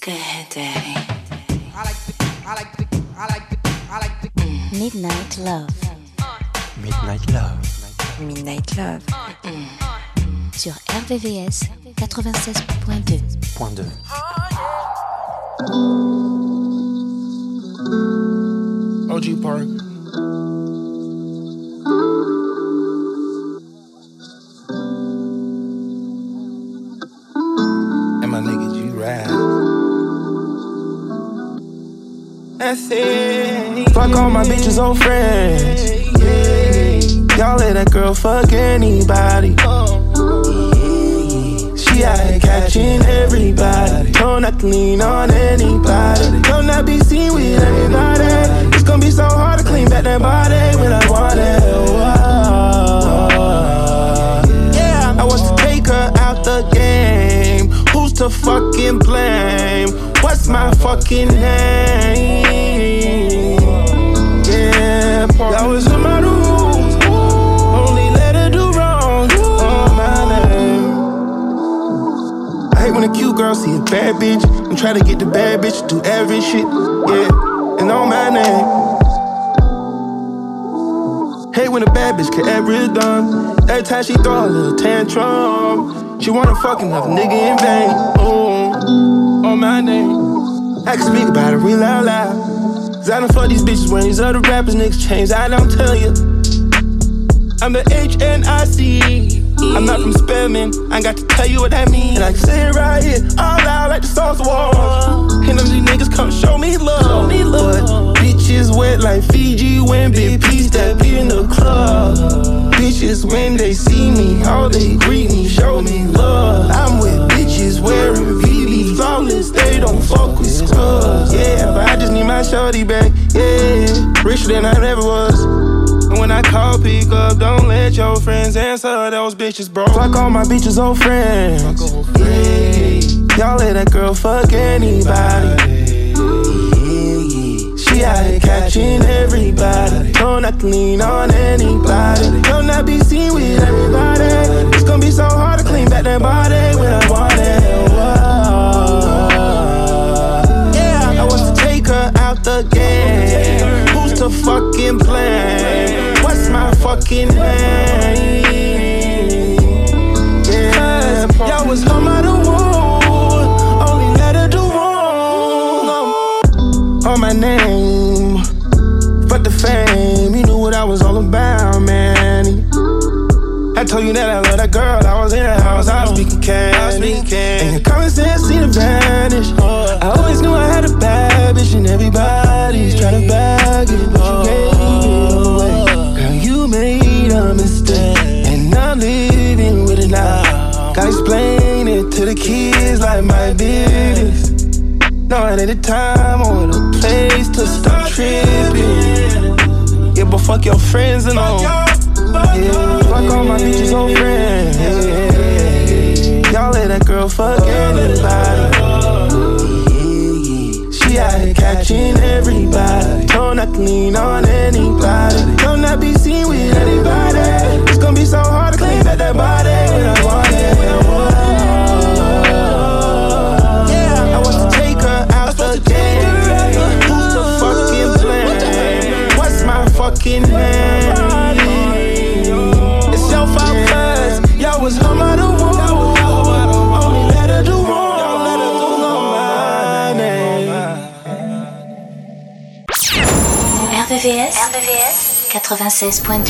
Go ahead, Daddy. Midnight Love. Midnight Love. Midnight Love. Sur RVVS 96.2. OG Park. And my nigga G-Ride. That's it. Fuck all my bitches old friends. Y'all let that girl fuck anybody. She out here catching everybody. Don't not to lean on anybody. Don't not be seen with everybody. It's gonna be so hard to clean back that body when I want it. Yeah, I want to take her out the game. Who's to fucking blame? What's my fucking name? Yeah, that was in my rules. Only let her do wrong on my name. I hate when a cute girl see a bad bitch and try to get the bad bitch to do every shit. Yeah, and on my name. Hate when a bad bitch get every done. Every time she throw a little tantrum, she wanna fuck another nigga in vain. Ooh, on my name. I can speak about it real loud. Cause I done fuck these bitches when these other rappers niggas change. I don't tell you. I'm the HNIC. I'm not from Spelman. I ain't got to tell you what that means. And I can say it right here, all loud like the songs of war. And them these niggas come show me love. But bitches wet like Fiji when big P step in the club. Bitches when they see me, all they greet me, show me love. I'm with bitches wearing VV flawless, they don't fuck with scrubs. Yeah, but I just need my shorty back. Yeah, richer than I ever was. And when I call, pick up, don't let your friends answer those bitches, bro. Fuck all my bitches old friends. Yeah, y'all let that girl fuck anybody. She out here catching everybody. Don't not to lean on anybody. Don't not be seen with everybody. It's gonna be so hard to clean back that body when I want it. Yeah, I want to take her out the game. Who's to fucking blame? What's my fucking name? Yeah, y'all was home out of wood. Only let her do wrong. On my name, fuck the fame. You knew what I was all about, man. I told you that I love that girl. I was in the house, I was speaking candy. And your common sense seemed to vanish. I always knew I had a bad bitch, and everybody's trying to bag it, but you gave it away. Girl, you made a mistake, and I'm living with it now. Gotta explain it to the kids like my business. No, it ain't the time or the place to stop tripping. Yeah, but fuck your friends and all. Yeah, fuck all my bitches old friends. Yeah, y'all let that girl fuck anybody. She out here catching everybody. Don't not to lean on anybody. Don't not be seen with anybody. It's gonna be so hard to clean back that body when I want it. Yeah, I want to take her out the game. Who's to fucking blame? What's my fucking name? It's your fault cause y'all was home out of wood. Only let her do wrong. Y'all let her do my name. RVVS 96.2.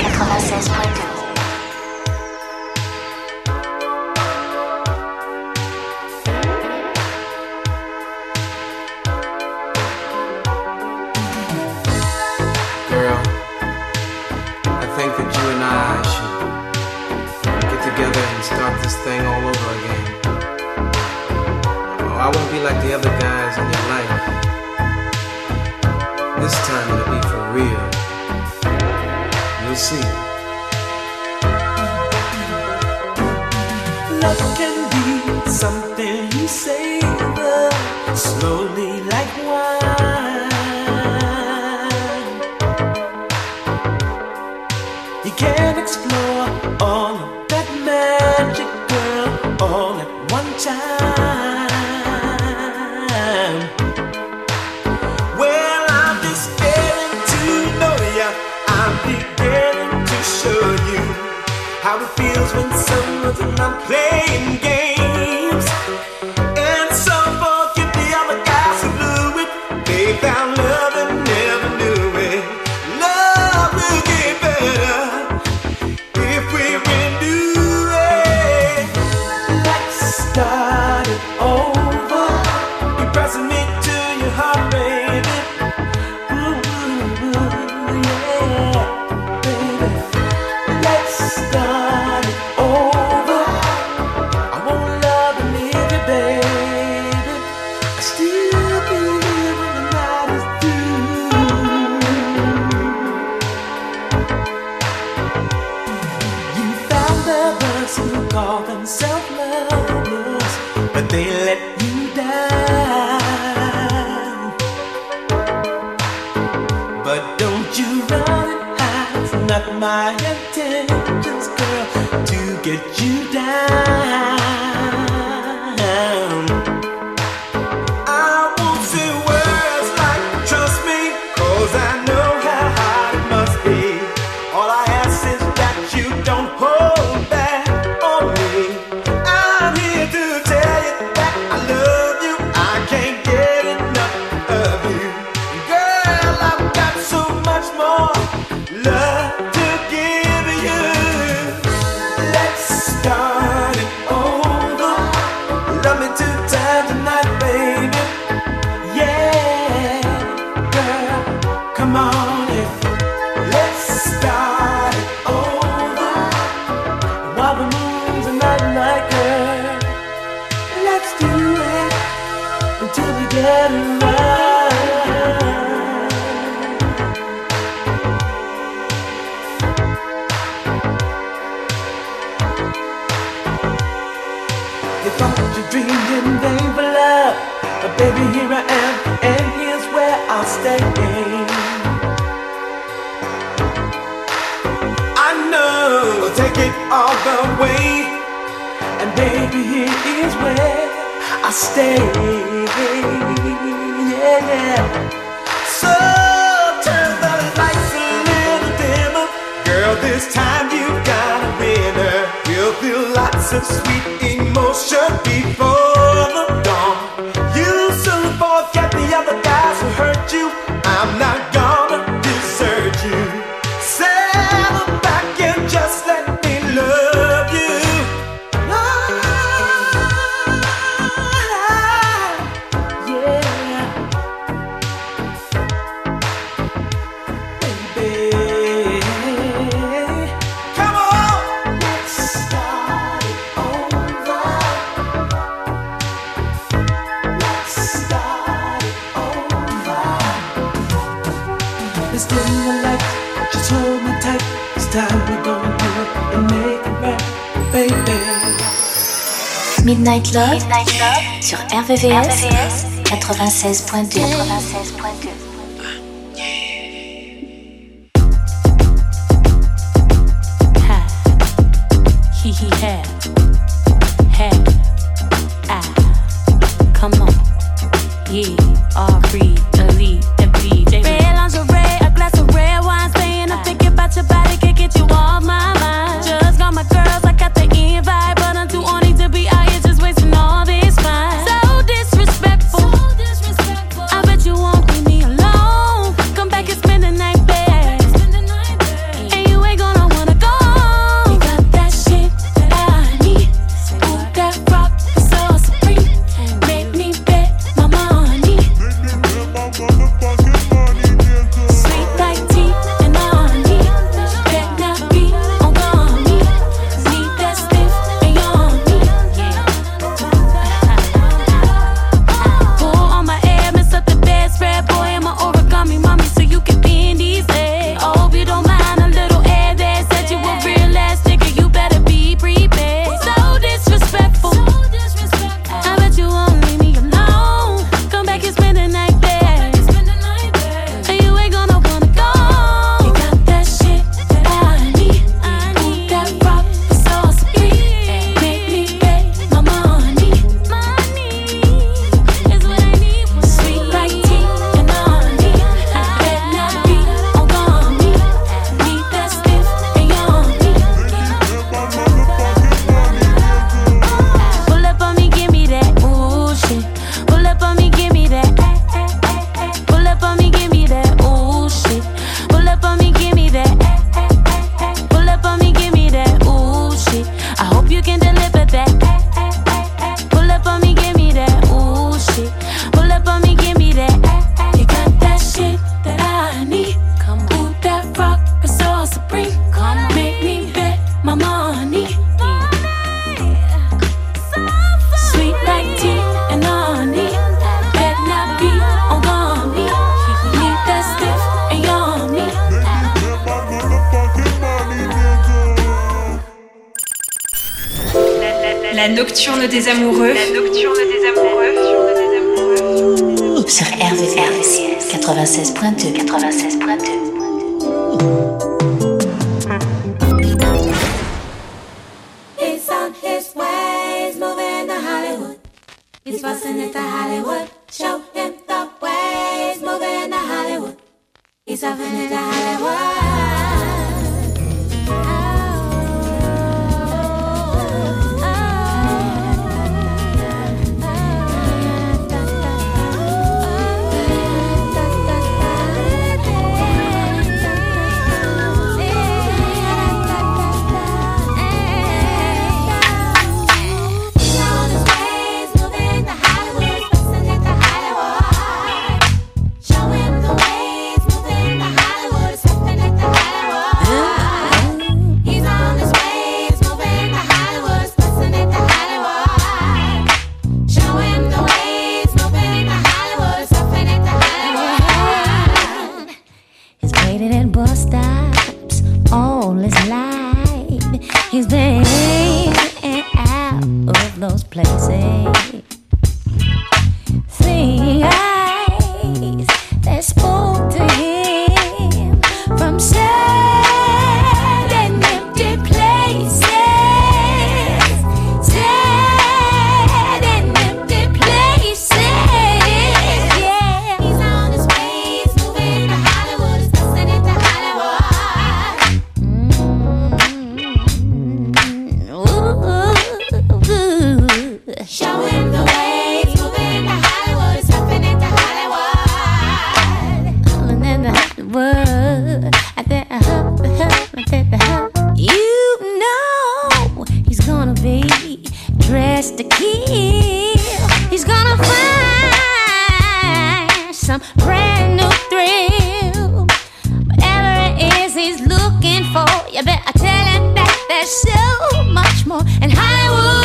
Girl, I think that you and I should get together and start this thing all over again. Oh, I won't be like the other guys in your life. This time it'll be for real. You'll see. Love can be something you savor slowly like wine. You can explore all of that magic, girl, all at one time. how it feels when someone's not playing games. And some forget the other guys who blew it. They found love and never knew it. Love will get better if we renew it. Let's start it over. You're pressing me to your heart, baby. Ooh, yeah, baby. Let's start it over. I won't love and leave you, baby. I still be here when the night is through. You found the ones who call themselves lovers, but they let you down. But don't you run and hide. It's not my intentions, girl, to get you down. I won't say words like trust me, 'cause I know how hard it must be. All I ask is that you don't hold back on me. I'm here to tell you that I love you. I can't get enough of you. Girl, I've got so much more love to give you. Let's start it over. Love me 2 times tonight, baby. Yeah, girl, come on in. Let's start it over. While the moon's not like her, let's do it until we get it right. You thought you dreamed in vain for love, but baby, here I am, and here's where I'll stay. I know we'll take it all the way, and baby, here is where I stay. Yeah. So turn the lights a little dimmer, girl. This time you got a winner. We'll feel lots of sweet emotion before the dawn. You soon forget the other guys who hurt you. I'm not gonna desert you. Settle back and just let me love you. Yeah, baby. Come on, let's start it over. Let's start it over. Let's dim the lights, just hold me tight. This time we're gonna do it and make it right, baby. Midnight Love, sur RVVS 96.2. Ha, he, had, ah, come on, yeah, all free, elite, FBJ. Red lingerie, a glass of red wine, staying up thinking about your body, can't get you off my mind. Just got my girls, I got the invite, but I'm too horny to be out here just wasting all this time. So disrespectful, I bet you won't leave me alone. La nocturne des amoureux. Sur RVVS 96.2. He's on his ways, moving to Hollywood. He's busting into Hollywood. Show him the ways, moving to Hollywood. He's hopping into Hollywood. He's been in and out of those places. Seeing eyes that spoke to him from sad and empty places. Sad and empty places. Yeah. He's on his ways, moving to Hollywood, he's busting into Hollywood. Show him the ways, moving to Hollywood, he's hopping into Hollywood. All in the Hollywood, at the hub. You know he's gonna be dressed to kill. He's gonna find some brand new thrill. Whatever it is he's looking for, you better tell him that there's so much more in Hollywood.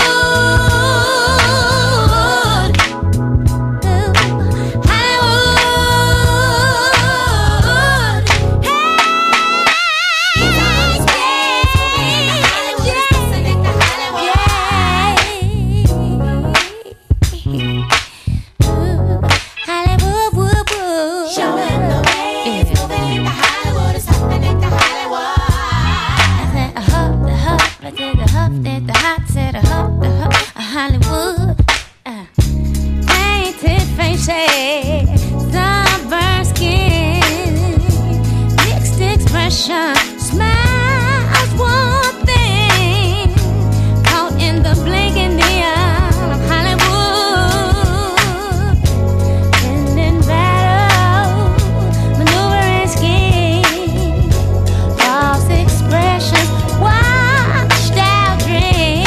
Hollywood, painted faces, sunburned skin, mixed expression, smiles one thing, caught in the blinking neon of Hollywood, ending battle, maneuvering scheme, false expressions, washed out dreams.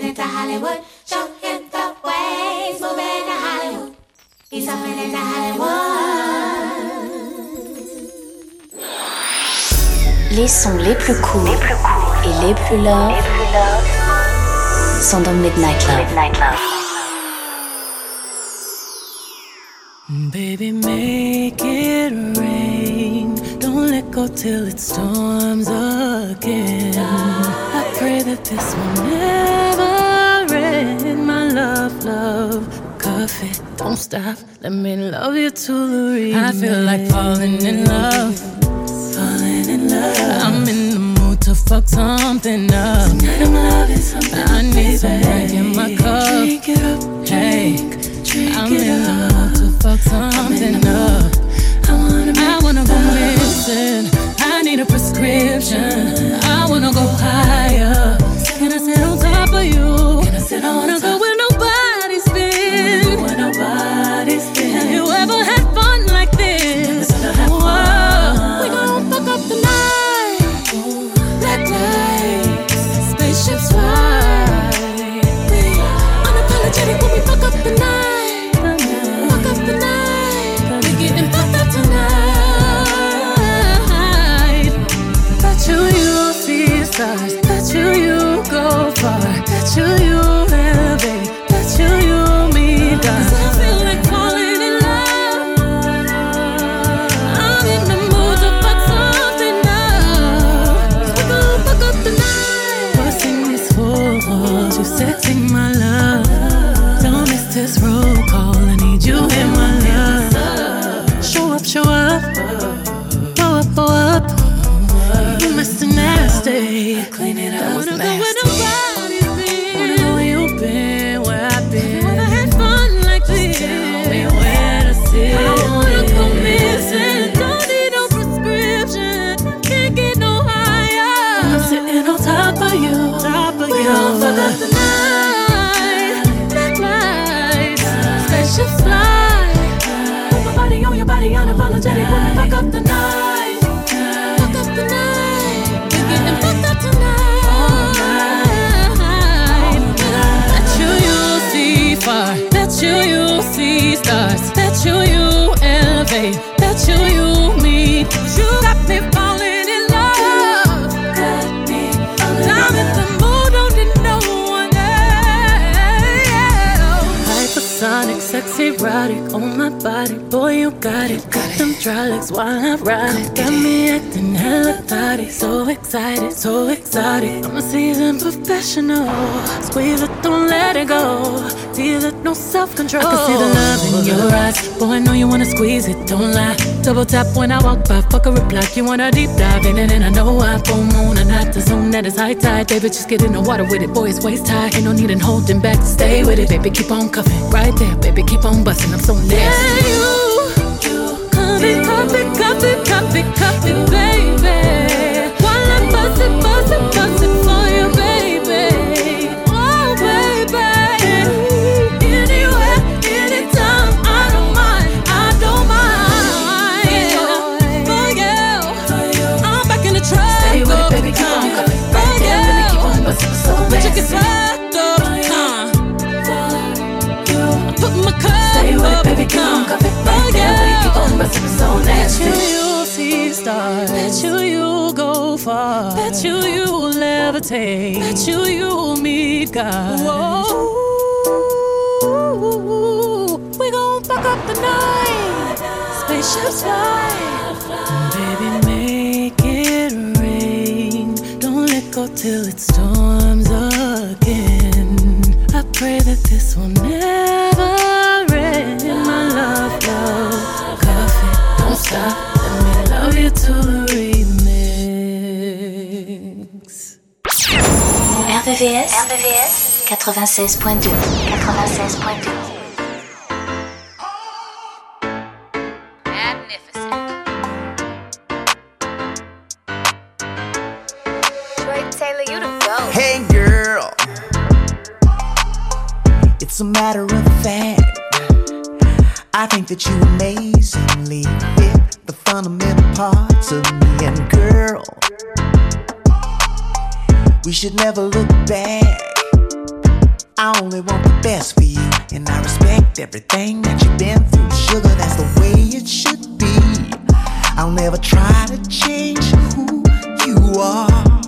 hopping into Hollywood. Show him the ways, moving to Hollywood. He's hopping into Hollywood. Les sons les plus cool et les plus love sont dans Midnight Love. Baby, make it rain. Don't let go till it storms again. I pray that this will never end. My love, love, coffee, don't stop. Let me love you to the remix. I feel like falling in love. I'm in the mood to fuck something up. Tonight I'm loving something. I need some drink in my cup. Drink it up, drink. I'm in the mood to fuck something up. I wanna go missing. I need a prescription. I wanna go higher. Can I sit on top of you? I wanna go where nobody's been. Have you ever had fun like this? Whoa. We gon' fuck up the night. Black lights, spaceships fly. Unapologetic when we fuck up the night. Fuck up the night. We getting fucked up tonight. Bet you'll see stars. Bet you go far. Bet you elevate. Bet you meet God. 'Cause I feel like falling in love. I'm in the mood to fuck something up. We gon' fuck up the night. Busting these walls, you sexy my love. Don't miss this roll call. I need you in my love. Show up, show up. Blow up, blow up. You Mr. Nasty. Clean it up. I wanna go where nobody's been. Wanna know where you've been, where I've been. Never had fun like this. Tell me where to sit. I wanna go missing. Don't need no prescription. Can't get no higher. I'm sitting on top of you. We gon' fuck up the night. Black lights, spaceships fly. Put my body on your body, unapologetic when we fuck up the night. Fuck up the night. We're getting fucked up tonight. All night. Bet you'll see far. Bet you'll see stars. Bet you'll elevate. Bet you'll meet. You got me falling in love. Got me falling in love. I'm in the mood, don't need no one else. Hypersonic, sexy, erotic on my body. Boy, you got it. Got them dry legs while I ride it. Got me acting hella thotty. So excited, so exotic. I'm a seasoned professional. Squeeze it, don't let it go. Feel it, no self-control. I can see the love in your eyes. Boy, I know you wanna squeeze it, don't lie. Double tap when I walk by, fuck a reply. You wanna deep dive in it, and I know I full moon and not the zone that is high tide. Baby, just get in the water with it, boy, it's waist high. Ain't no need in holding back to stay with it. Baby, keep on cuffing, right there. Baby, keep on busting, I'm so nasty. Yeah, you copy, baby. While I'm bustin' for you, baby. Oh, baby. Anywhere, anytime, I don't mind. For you, I'm back in the truck. Stay with it, baby, keep on coming. Right there, baby, keep on bustin' so nasty. But you get swept up, put my cup stay with it, baby, keep on coming. Right there, baby, keep on bustin' so nasty. Bet you'll see stars. Bet you'll go far. Bet you'll levitate. Bet you'll meet God. Whoa. We gon' fuck up the night. Spaceships fly. Baby, make it rain. Don't let go till it storms again. I pray that this will never end. My love, love, coffee, don't stop. Let me love you to the remix. RVVS 96.2. Taylor, you the GOAT. Hey girl, it's a matter of fact. I think that you amazingly fit the fundamental parts of me. And girl, we should never look back. I only want the best for you, and I respect everything that you've been through. Sugar, that's the way it should be. I'll never try to change who you are.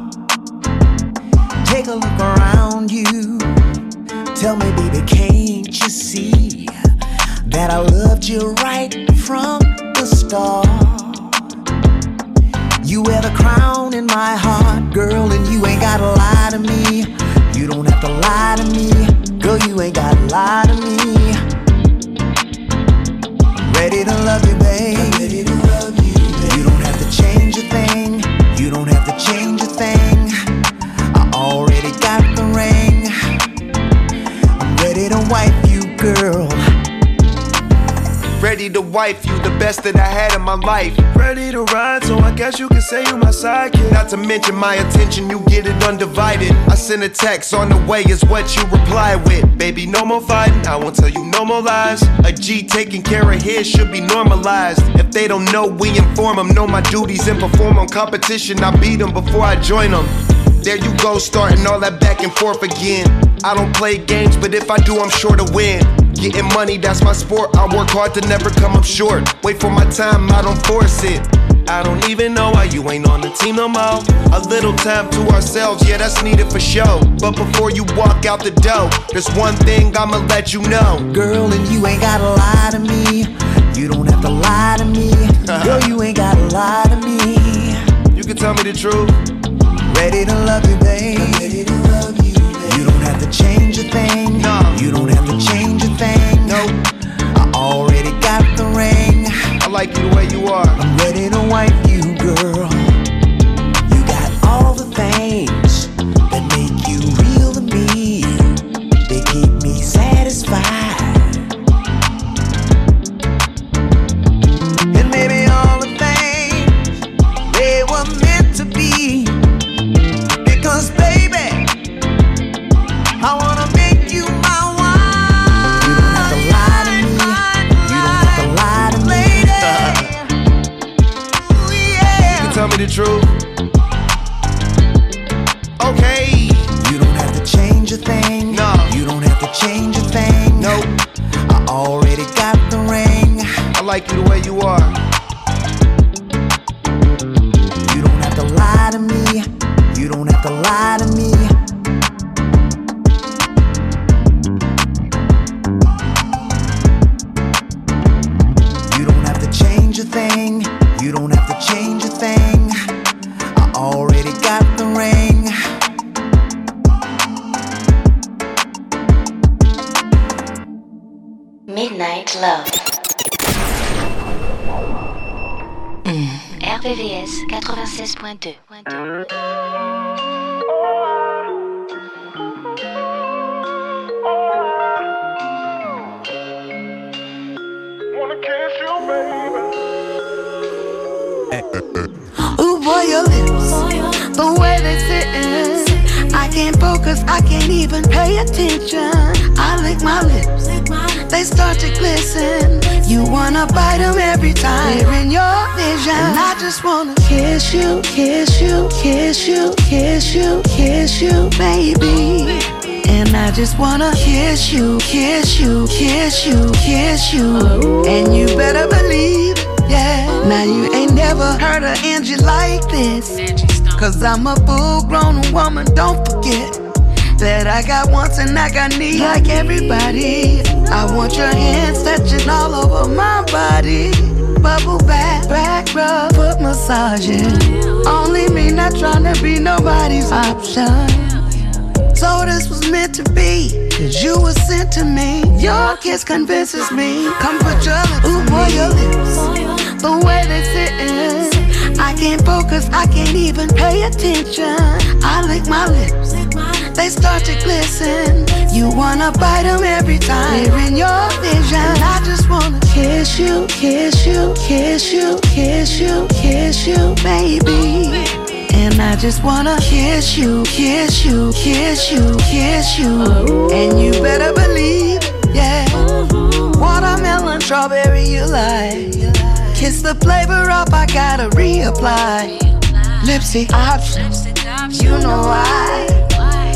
Take a look around you. Tell me, baby, can't you see that I loved you right from the start? You wear the crown in my heart, girl, and you ain't gotta lie to me. You don't have to lie to me, girl, you ain't gotta lie to me. I'm ready to love you, babe. I'm ready to love you, babe. You don't have to change a thing. You don't have to change a thing. I already got the ring. I'm ready to wife you, girl. Ready to wife you, the best that I had in my life. Ready to ride, so I guess you can say you my sidekick. Not to mention my attention, you get it undivided. I sent a text, on the way is what you reply with. Baby, no more fighting, I won't tell you no more lies. A G taking care of his should be normalized. If they don't know, we inform them. Know my duties and perform on competition. I beat them before I join them. There you go, starting all that back and forth again. I don't play games, but if I do, I'm sure to win. Getting money, that's my sport. I work hard to never come up short. Wait for my time, I don't force it. I don't even know why you ain't on the team no more. A little time to ourselves, yeah, that's needed for show. But before you walk out the door, there's one thing I'ma let you know. Girl, and you ain't gotta lie to me. You don't have to lie to me. Girl, you ain't gotta lie to me. You can tell me the truth. Ready to love you, babe. I'm ready to love you, babe. You don't have to change a thing. No. You don't have to change a thing. Nope. I already got the ring. I like you the way you are. I'm ready to wife you, girl. You got all the things that make you real to me. They keep me satisfied. And maybe all the things they were meant to be. Because baby, I wanna make you my wife. You don't have to lie to me. You don't have to lie to me. Ooh, yeah. You can tell me the truth. Okay. You don't have to change a thing. No. You don't have to change a thing. Nope. I already got the ring. I like you the way you are. You don't have to lie to me. You don't have to lie to me. You don't have to change a thing. You don't have to change a thing. I already got the ring. Midnight Love. RVVS 96.2. Ooh boy, your lips, the way they sittin', I can't focus, I can't even pay attention. I lick my lips, they start to glisten. You wanna bite them every time they're in your vision. And I just wanna kiss you, kiss you, kiss you, kiss you, kiss you, baby. And I just wanna kiss you, kiss you, kiss you, kiss you. And you better believe it, yeah. Now you ain't never heard of Angie like this. Cause I'm a full-grown woman, don't forget that I got wants and I got needs like everybody. I want your hands touching all over my body. Bubble bath, back rub, foot massaging. Only me, not trying to be nobody's option. So this was meant to be, cause you were sent to me. Your kiss convinces me. Come put your lips on me. Ooh boy, your lips, the way they sittin', I can't focus, I can't even pay attention. I lick my lips, they start to glisten. You wanna bite them every time they're in your vision. And I just wanna kiss you, kiss you, kiss you, kiss you, kiss you, baby. And I just wanna kiss you, kiss you, kiss you, kiss you. And you better believe it, yeah. Watermelon, strawberry, you like. Kiss the flavor up, I gotta reapply. Lipstick options, you know why.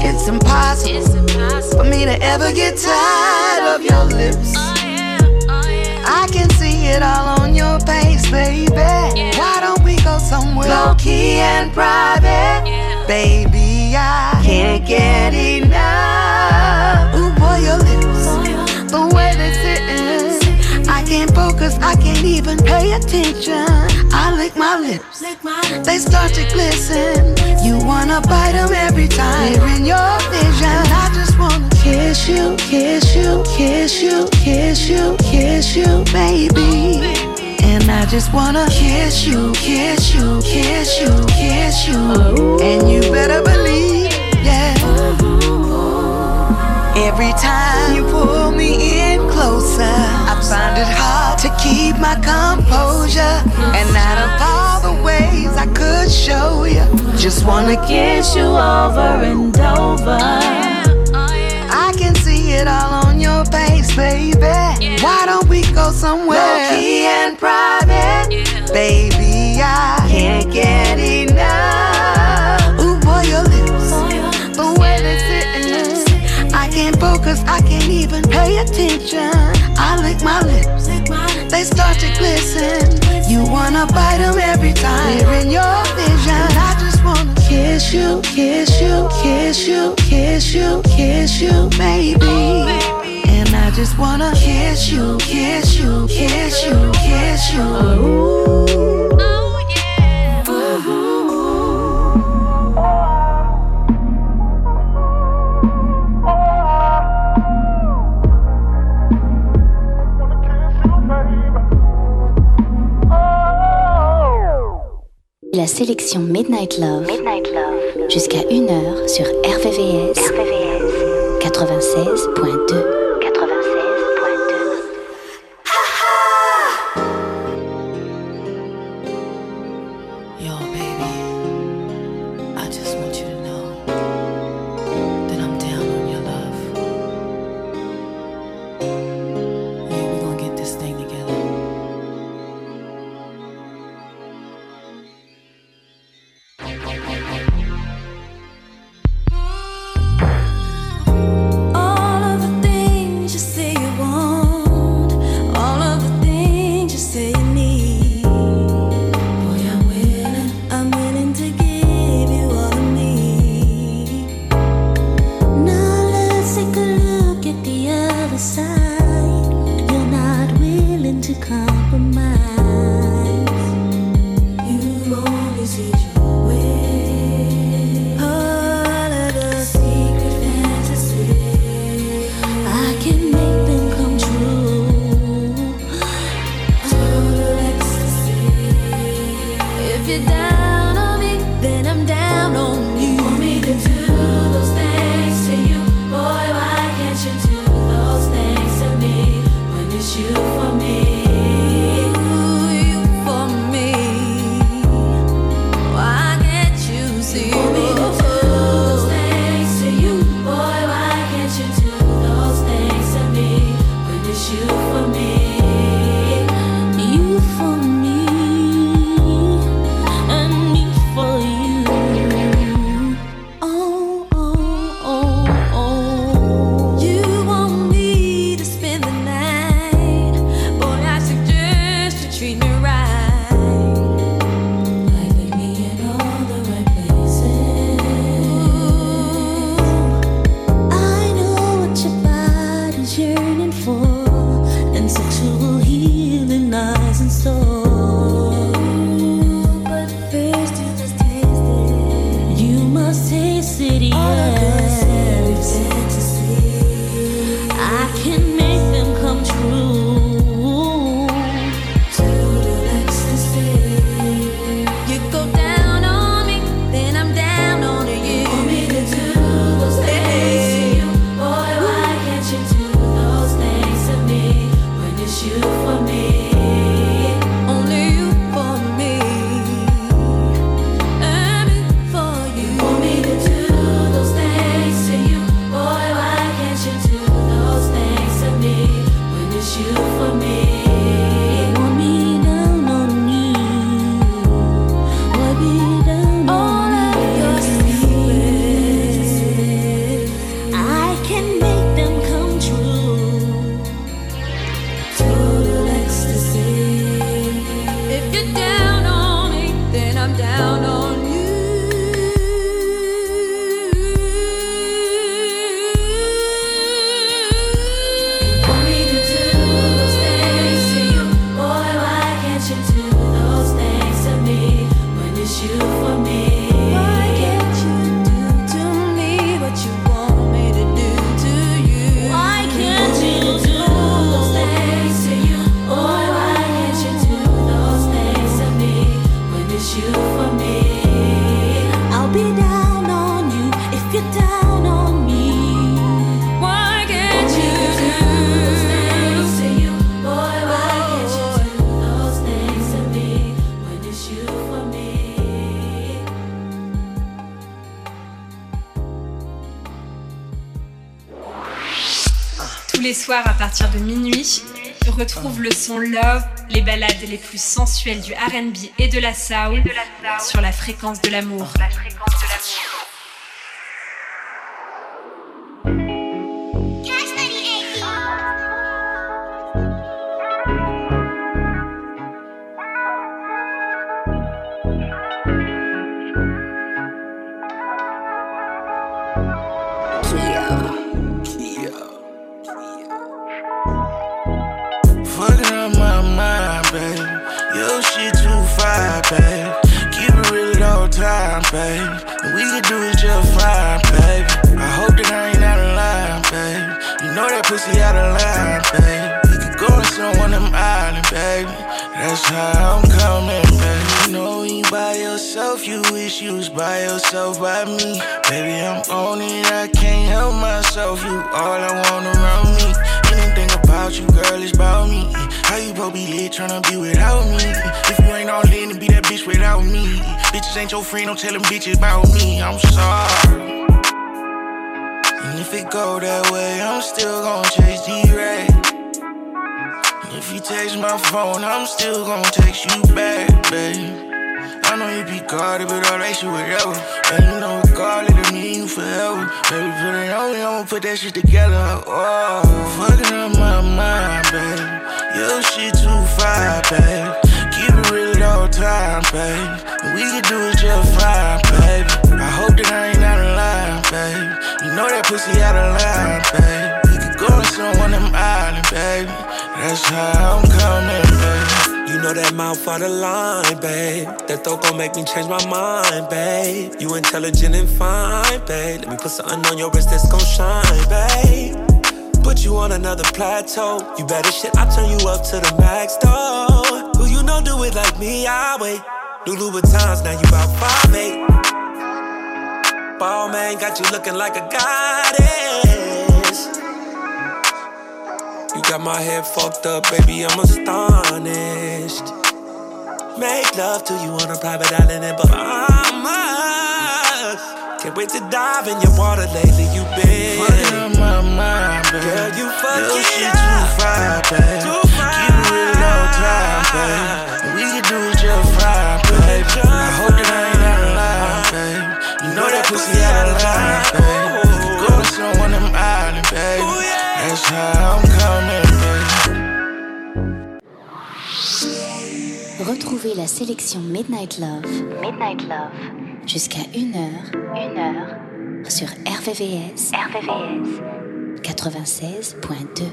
It's impossible for me to ever get tired of your lips. I can see it all on your face, baby. Why don't we go somewhere low-key and private? Baby, I can't get enough. Ooh, boy, your lips, the way they sittin', I can't focus, I can't even pay attention. I lick my lips, they start to glisten. You wanna bite them every time they're in your vision. I just wanna kiss you, kiss you, kiss you, kiss you, kiss you, baby. And I just wanna kiss you, kiss you, kiss you, kiss you. And you better believe, yeah. Every time you pull me in closer, I find it hard to keep my composure. And out of all the ways I could show you, just wanna kiss you over and over. I can see it all on your face, baby. Why don't we go somewhere low-key and private? Baby, I can't get enough. Ooh, boy, your lips, the way they sittin', I can't focus, I can't even pay attention. I lick my lips, they start to glisten. You wanna bite them every time they're in your vision. I just wanna kiss you, kiss you, kiss you, kiss you, kiss you, baby. And I just wanna kiss you, kiss you, kiss you, kiss you. Ooh. Oh, yeah. Ooh. La sélection Midnight Love, jusqu'à 1h sur RVVS 96.2. To those things to Tous les soirs à partir de minuit, retrouve le son Love, les ballades les plus sensuelles du R&B et de la soul sur la fréquence de l'amour. Babe, keep it real at all times, babe. And we can do it just fine, babe. I hope that I ain't out of line, babe. You know that pussy out of line, babe. We could go to some one of them islands, baby. That's how I'm coming, babe. You know when you by yourself, you wish you was by yourself by me. Baby, I'm on it, I can't help myself. You all I want around me. Anything about you, girl, is about me. How you both be lit tryna be without me? If you ain't all in to be that bitch without me. Bitches ain't your friend, don't tell them bitches about me. I'm sorry. And if it go that way, I'm still gon' chase D-Ray. And if you text my phone, I'm still gon' text you back, babe. I know you be guarded, but all that shit whatever. And you know regardless, it mean you forever. Baby, put it on me, I'ma put that shit together. Oh, fucking up my mind, babe. Your shit too fire, babe. Keep it real at all times, babe. We can do it just fine, babe. I hope that I ain't out of line, babe. You know that pussy out of line, babe. We could go to some one of them islands, baby. That's how I'm coming, babe. You know that mouth out of line, babe. That thought gon' make me change my mind, babe. You intelligent and fine, babe. Let me put something on your wrist that's gon' shine, babe. Put you on another plateau. You better shit, I turn you up to the max, though. Who you know do it like me, I wait. New Louboutins, now you about 5'8". Ball man got you looking like a goddess. You got my head fucked up, baby, I'm astonished. Make love to you on a private island in Bahamas. Can't wait to dive in your water lately, you been fucking up my mind, babe. Girl, you fucking your shit too fine, babe. Too fine. Keep it real all time, babe. We can do it just fine, babe. I hope that I ain't out of line, babe. You know that pussy out of line, babe. We could go to some one of them islands, babe. That's how I'm coming, babe. Retrouvez la sélection Midnight Love jusqu'à 1h sur RVVS 96.2.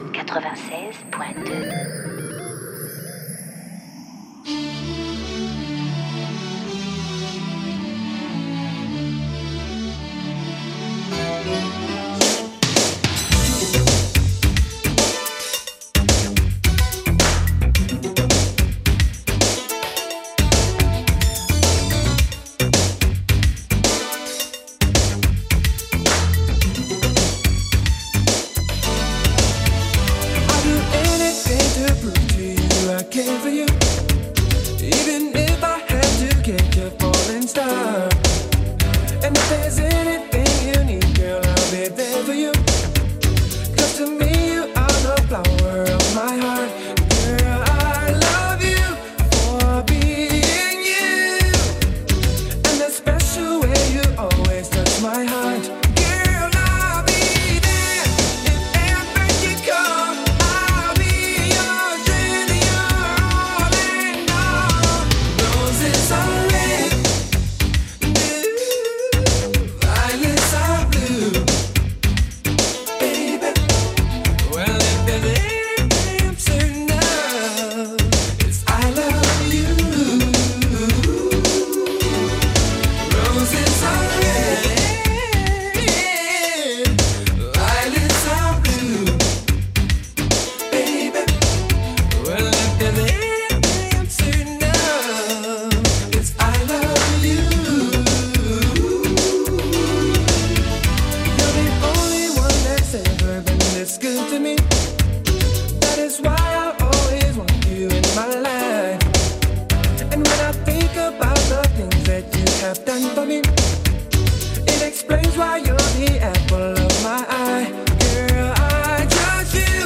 It explains why you're the apple of my eye. Girl, I just feel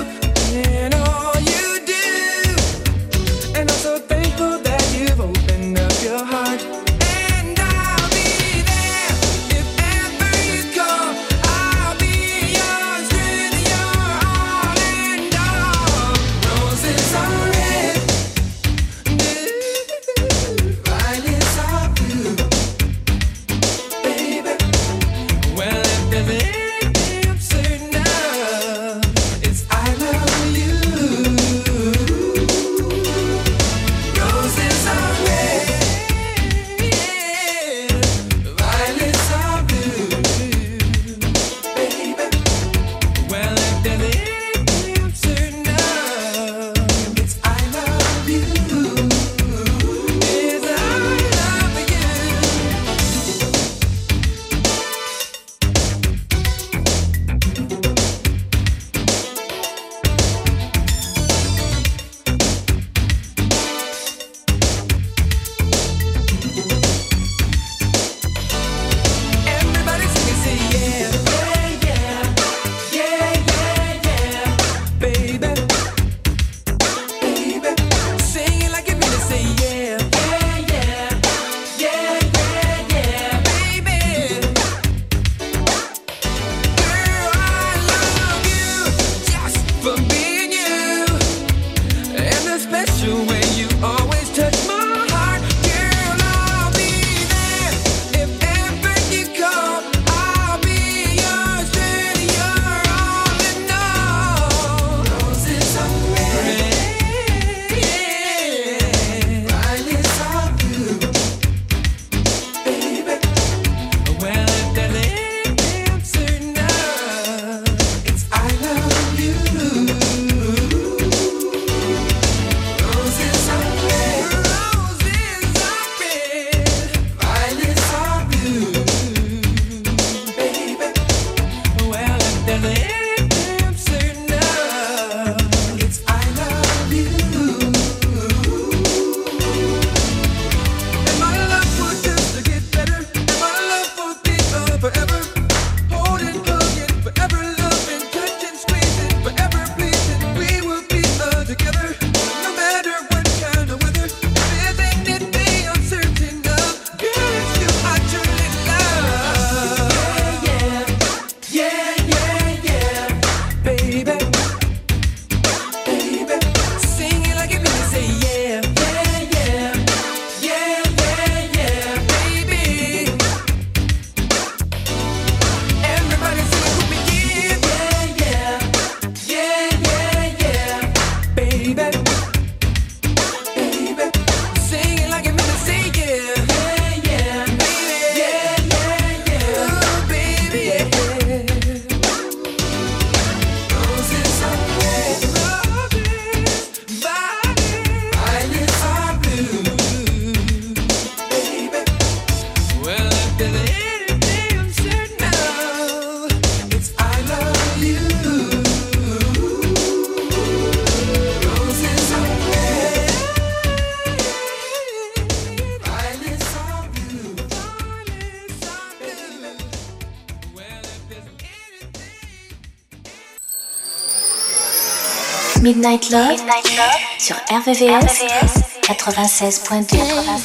Midnight Love sur RVVS 96.2.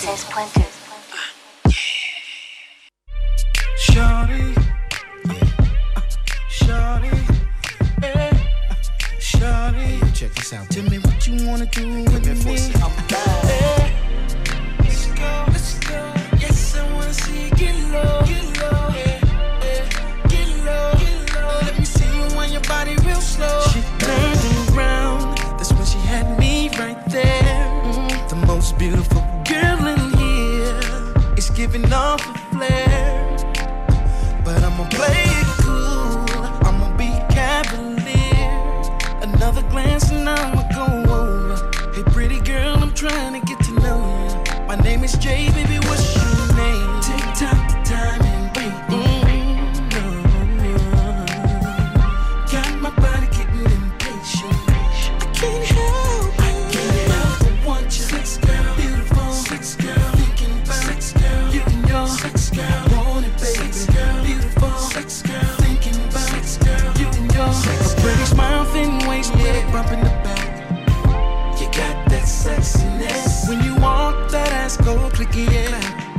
Shawty, Shawty, Shawty, check this out. Tell me what you wanna do with me. Let's go, let's go. Yes, I wanna see you get low, get low. Let me see you on your body real slow. She turned around, that's when she had me right there. The most beautiful girl in here is giving off a flare. But I'ma play it cool, I'ma be cavalier. Another glance and I'ma go over. Hey pretty girl, I'm trying to get to know you. My name is Jay, baby, what's your name? Tick tock the time and wait. Got my body getting impatient. I can't help but want you. Sex girl, beautiful. Sex girl, thinking about sex girl. You and your sex girl, want it, baby. Sex girl, beautiful. Sex girl, thinking about sex girl. You and your sex girl. A pretty smile, thin waist, yeah, bump in the back. You got that sexiness. When you walk, that ass go clicky, yeah.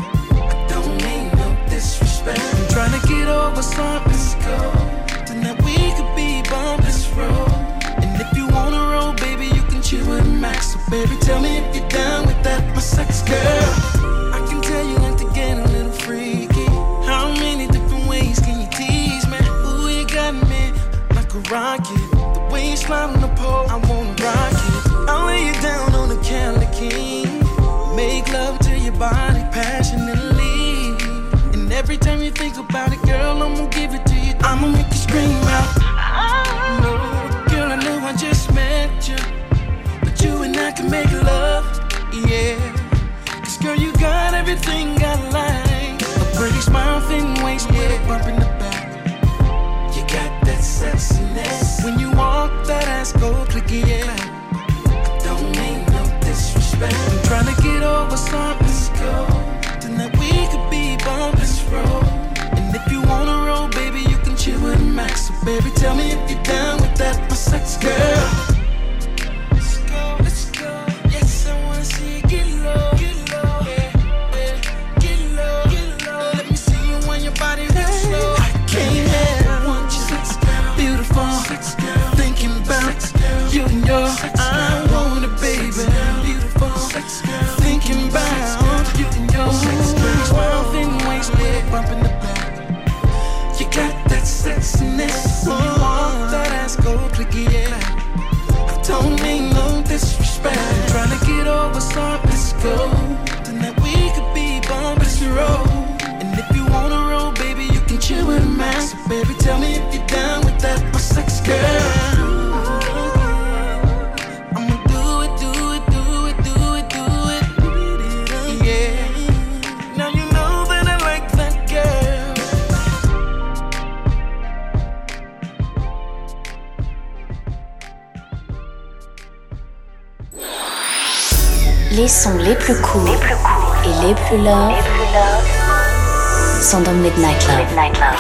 I don't mean no disrespect. I'm trying to get over something. Let's go. Tonight we could be bumping this road. And if you wanna roll, baby, you can chill with Max. So baby, tell me if you're down with that, my sex girl. I can tell you like to get a little freaky. How many different ways can you tease me? Ooh, you got me like a rocket. The way you slide on the pole, I wanna rock it. I'll lay you down on the Cali King. Make love to your body passionately. And every time you think about it, girl, I'm gonna give it to you. I'ma make you scream out. No, girl, I know I just met you, but you and I can make love, yeah. Cause girl, you got everything I like. A pretty smile, thin waist, yeah, bump in the back. You got that sexiness. When you walk, that ass go clicky, yeah. I don't mean no disrespect. I'm trying to get over something. Let's go. Tonight we could be bumping this road. And if you wanna roll, baby, you can chill with Max. So baby, tell me if you're down with that, my sex girl. Let's go, let's go. Yes, I wanna see you get low, yeah, get low. Let me see you on your body real slow. I can't help want you, sex girl, beautiful, sex girl, thinking about you and your I want it, baby, beautiful, sex girl, thinking about you and your sex girl. Smile, thin waist, yeah, bumping the back. You got that sexiness. When you walk, that ass go clicky, yeah. I don't mean no disrespect. I'm trying to get over something. Let's go. Tonight we could be bumping this road. And if you wanna roll, baby, you can chill with Max. So baby, tell me if you're down with that, my sex girl. I'ma do it, yeah. Now you know that I like that girl. Les sons les plus cool et les plus love sont dans Midnight Love.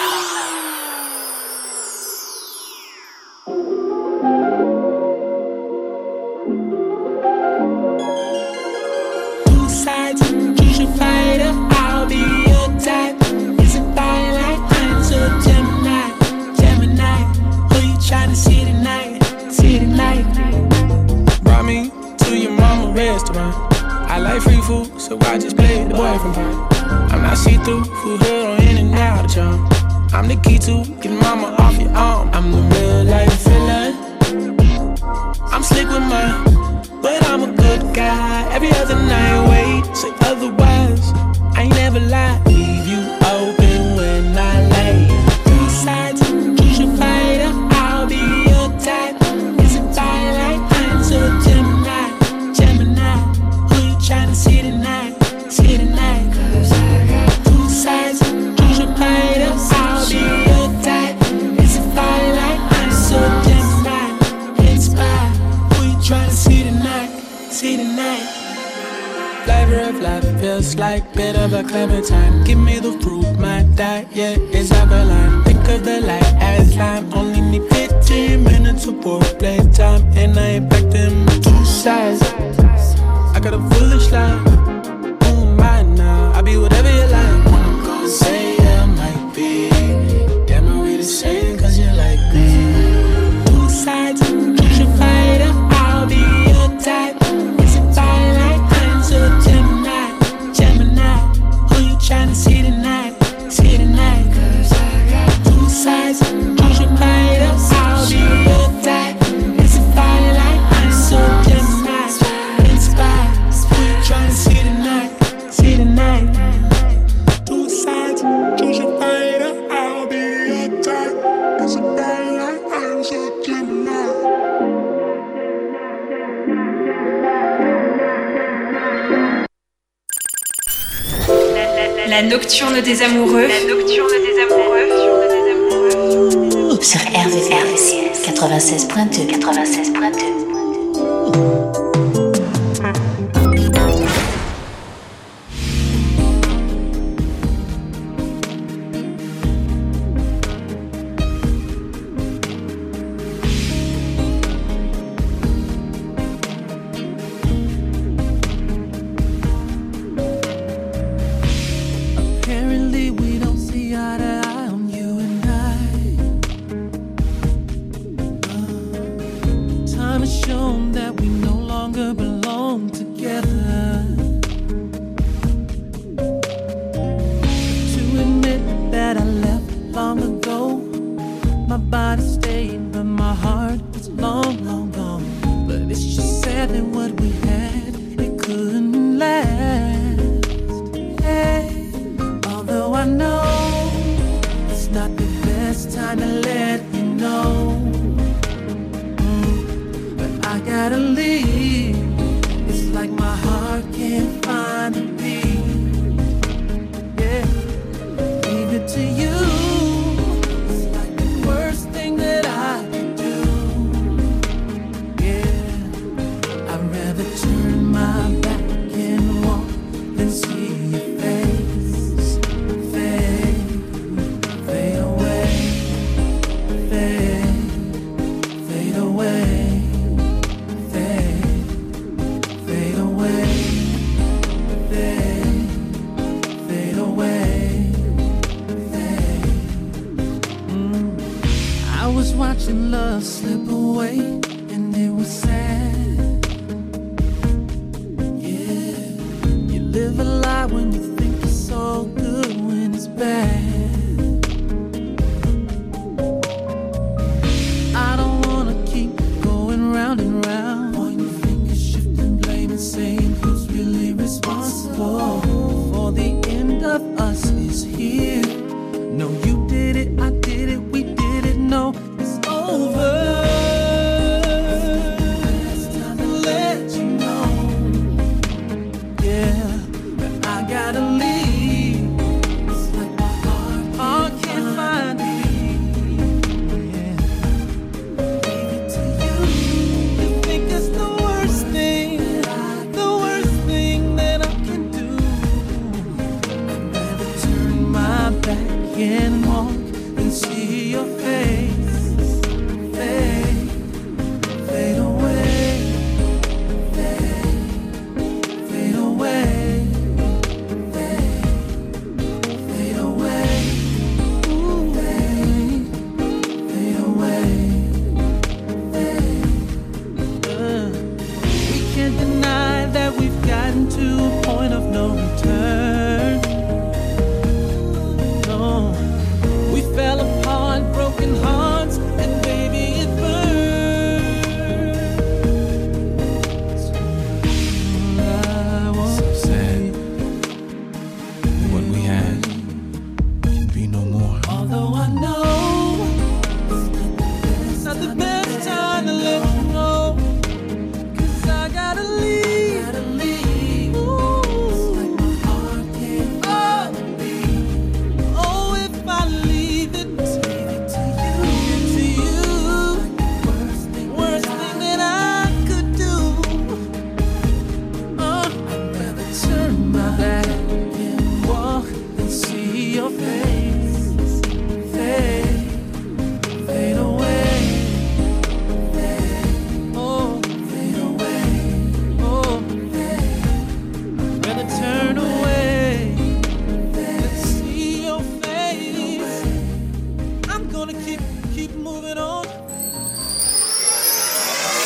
Two sides, choose your fighter. I'll be your type. Is it fire like Heinz or Gemini? Who you tryna see tonight? Brought me to your mama restaurant. I like free food, so I just played the boyfriend part. I'm not see-through, food hood on in and out of charm. I'm the key to getting mama off your arm. I'm the real life villain. I'm slick with mine, but I'm a good guy. Every other night, wait, say otherwise. I ain't never lied, leave you open when I lay. Two sides, choose your fighter. I'll be your type. Is it fire like Heinz or Gemini? Who you tryna see tonight? Cause I got two sides, choose your fighter. I'll be your type. Is it fire like Heinz or Gemini? Inspire. Who you tryna see tonight? Flavor of life feels like bitter but clementine. Give me the fruit, my diet is alkaline. Think cause the light has lime. Only need 15 minutes of foreplay time, and I ain't back to my 2 sides. I got a foolish life. Who am I now? I be whatever you like. I'm gonna say I might be. Damn, are we the same? Cause you like me. 2 sides, choose your fighter. I'll be your type. It's a fire like answer Gemini. Gemini, who you tryna see tonight? See tonight. Cause I got 2 sides, choose your fighter. I'll be your type. It's a fire like answer Gemini. Inspire, who you tryna see tonight? See tonight. 2 sides, choose your fighter. I'll be your type. It's a fire like answer Gemini. La nocturne des amoureux. La nocturne des amoureux. Sur RVCS 96.2. 96.2. Apparently we don't see eye to eye on you and I. Time has shown that we no longer belong together. To admit that I left long ago, my body stayed but my heart was long, long gone. But it's just sad that what we had, it couldn't last. Hey. Although I know it's not the best time to let you know, but I gotta leave. It's like my heart can't find a beat. Yeah, leave it to you. It's like the worst thing that I could do. Yeah, I'd rather turn my back and walk than see your face. Fade away, fade away, fade.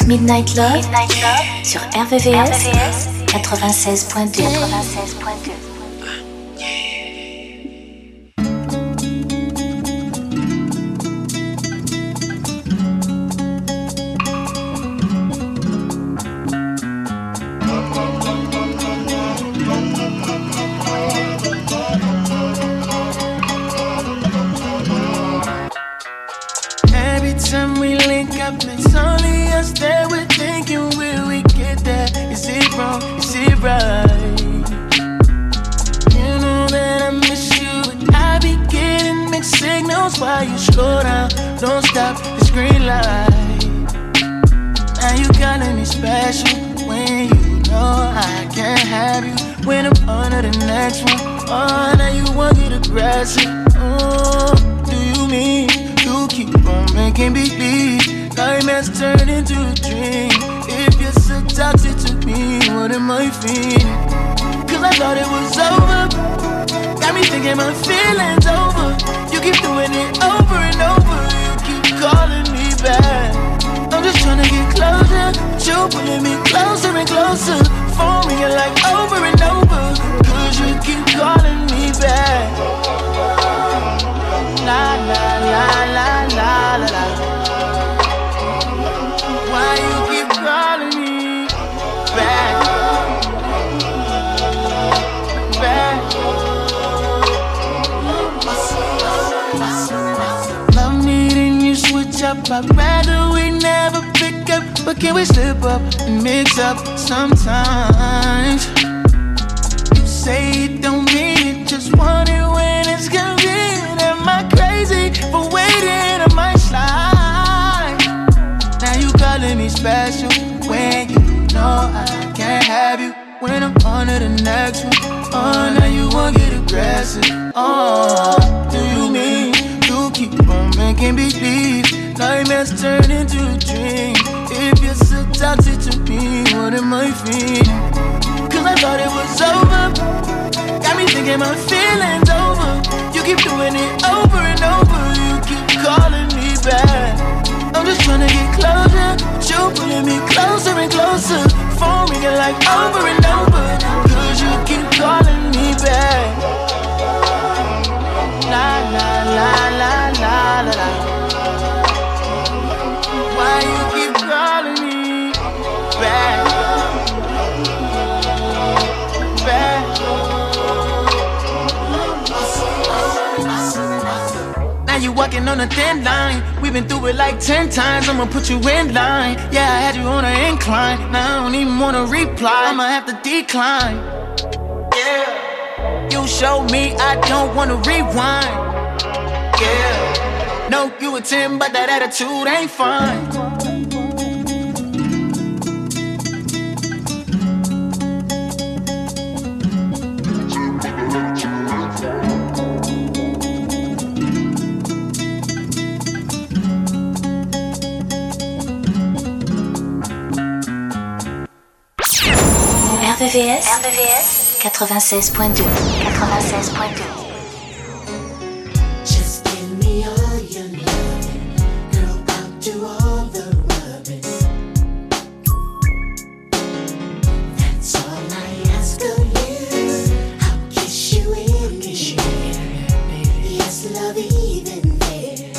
Midnight Love sur RVVS 96.2. Every time we link up, it's only us that we're thinking, will we get there? Is it wrong? Is it right? You know that I miss you, and I be getting mixed signals while you slow down. Don't stop, it's green light. Now you calling me special when you know I can't have you. When I'm on to the next one, oh, now you want to get aggressive. Oh, do you mean you keep on making believe nightmares turn into a dream? If you're so toxic to me, what am I feeling? Cause I thought it was over. Got me thinking my feelings over. You keep doing it over and over. You keep calling me back. I'm just trying to get closer, but you pulling me closer and closer. Phone ringing like over and over. Cause you keep calling me back. La la la la la la la. Why you keep calling me back? Back. Love me then you switch up. I'd rather we never pick up, but can we slip up and mix up sometimes? You say it don't mean it, just want it when it's convenient. Am I crazy for waiting? I might slide. Now you calling me special when you know I can't have you. When I'm on to the next one, oh, now you won't get aggressive. Oh, do you mean you keep on making believe nightmares turn into a dream? If you're so toxic to me, what am I feeling? Cause I thought it was over. Got me thinking my feelings over. You keep doing it over and over. You keep calling me back. I'm just trying to get closer, but you pulling me closer and closer. Phone ringing like over and over. Cause you keep calling me back. La la la la la la la. Why you keep calling me back? Back. Now you walking on a thin line. We've been through it like 10 times. I'ma put you in line. Yeah, I had you on an incline. Now I don't even wanna reply. I'ma have to decline. Yeah. You showed me I don't wanna rewind. Yeah. No, you a 10, but that attitude ain't fine. RVVS 96.2. Just give me all your loving, girl, I'll do all the rubbing. That's all I ask of you. I'll kiss you in the ear. Yes, love even there.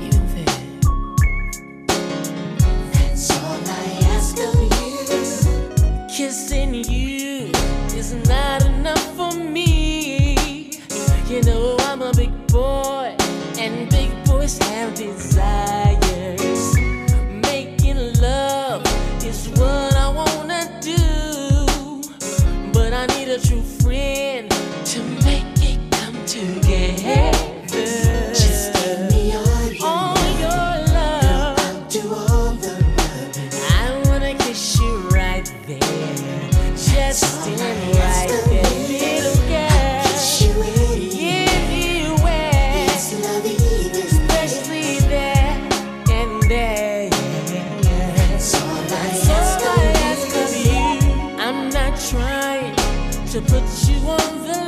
That's all I ask of you. Kissing you is not enough for me. You know I'm a big boy, and big boys have desires. Making love is what I wanna do, but I need a true friend to make it come together. Just give me all your love. Girl, I'll do all the rubbing. I wanna kiss you right there, just in right there, little girl. Kiss you anywhere, yes, love even especially there and there. That's all I ask of you. I'm not trying to put you on the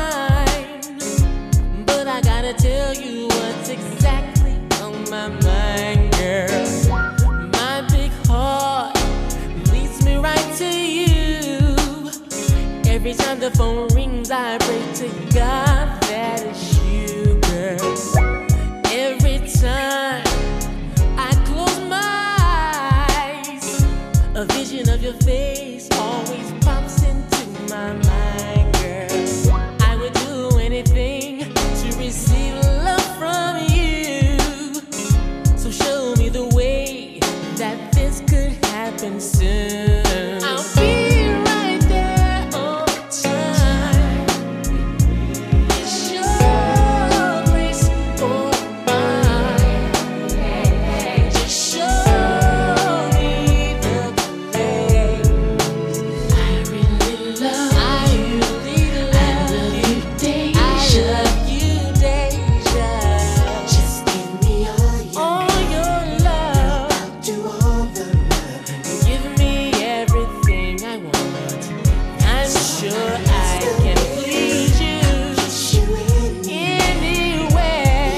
line, but I gotta tell you what's exactly on my mind, girl. My big heart telephone rings, I pray to God that it's you, girl. Every time I close my eyes, a vision of your face always pops into my mind, girl. I would do anything to receive love from you. So show me the way that this could happen soon. I'll be right there all the time. It's your place or mine. Just show me the place. I really love you, Deja. I love you, Deja. Just give me all your love. I'll do all the love. Give me everything I want. I'm sure I can please you. Anywhere.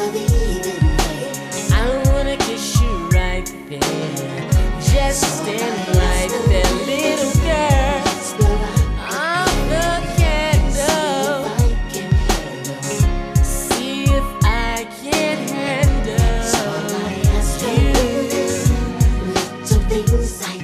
I wanna kiss you right there. Just stand right there, little girl. I'm the candle. See if I can handle you. Little things I